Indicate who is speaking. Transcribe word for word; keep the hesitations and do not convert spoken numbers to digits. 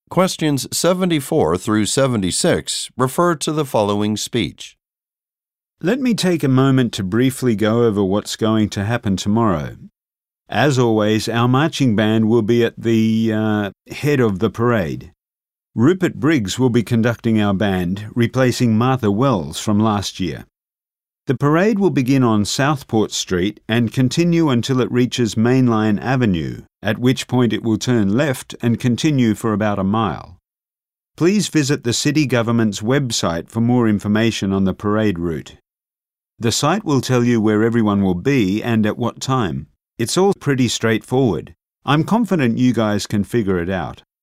Speaker 1: Questions seventy-four through seventy-six refer to the following speech.
Speaker 2: Let me take a moment to briefly go over what's going to happen tomorrow. As always, our marching band will be at the uh, head of the parade. Rupert Briggs will be conducting our band, replacing Martha Wells from last year. The parade will begin on Southport Street and continue until it reaches Mainline Avenue, at which point it will turn left and continue for about a mile. Please visit the city government's website for more information on the parade route. The site will tell you where everyone will be and at what time. It's all pretty straightforward. I'm confident you guys can figure it out.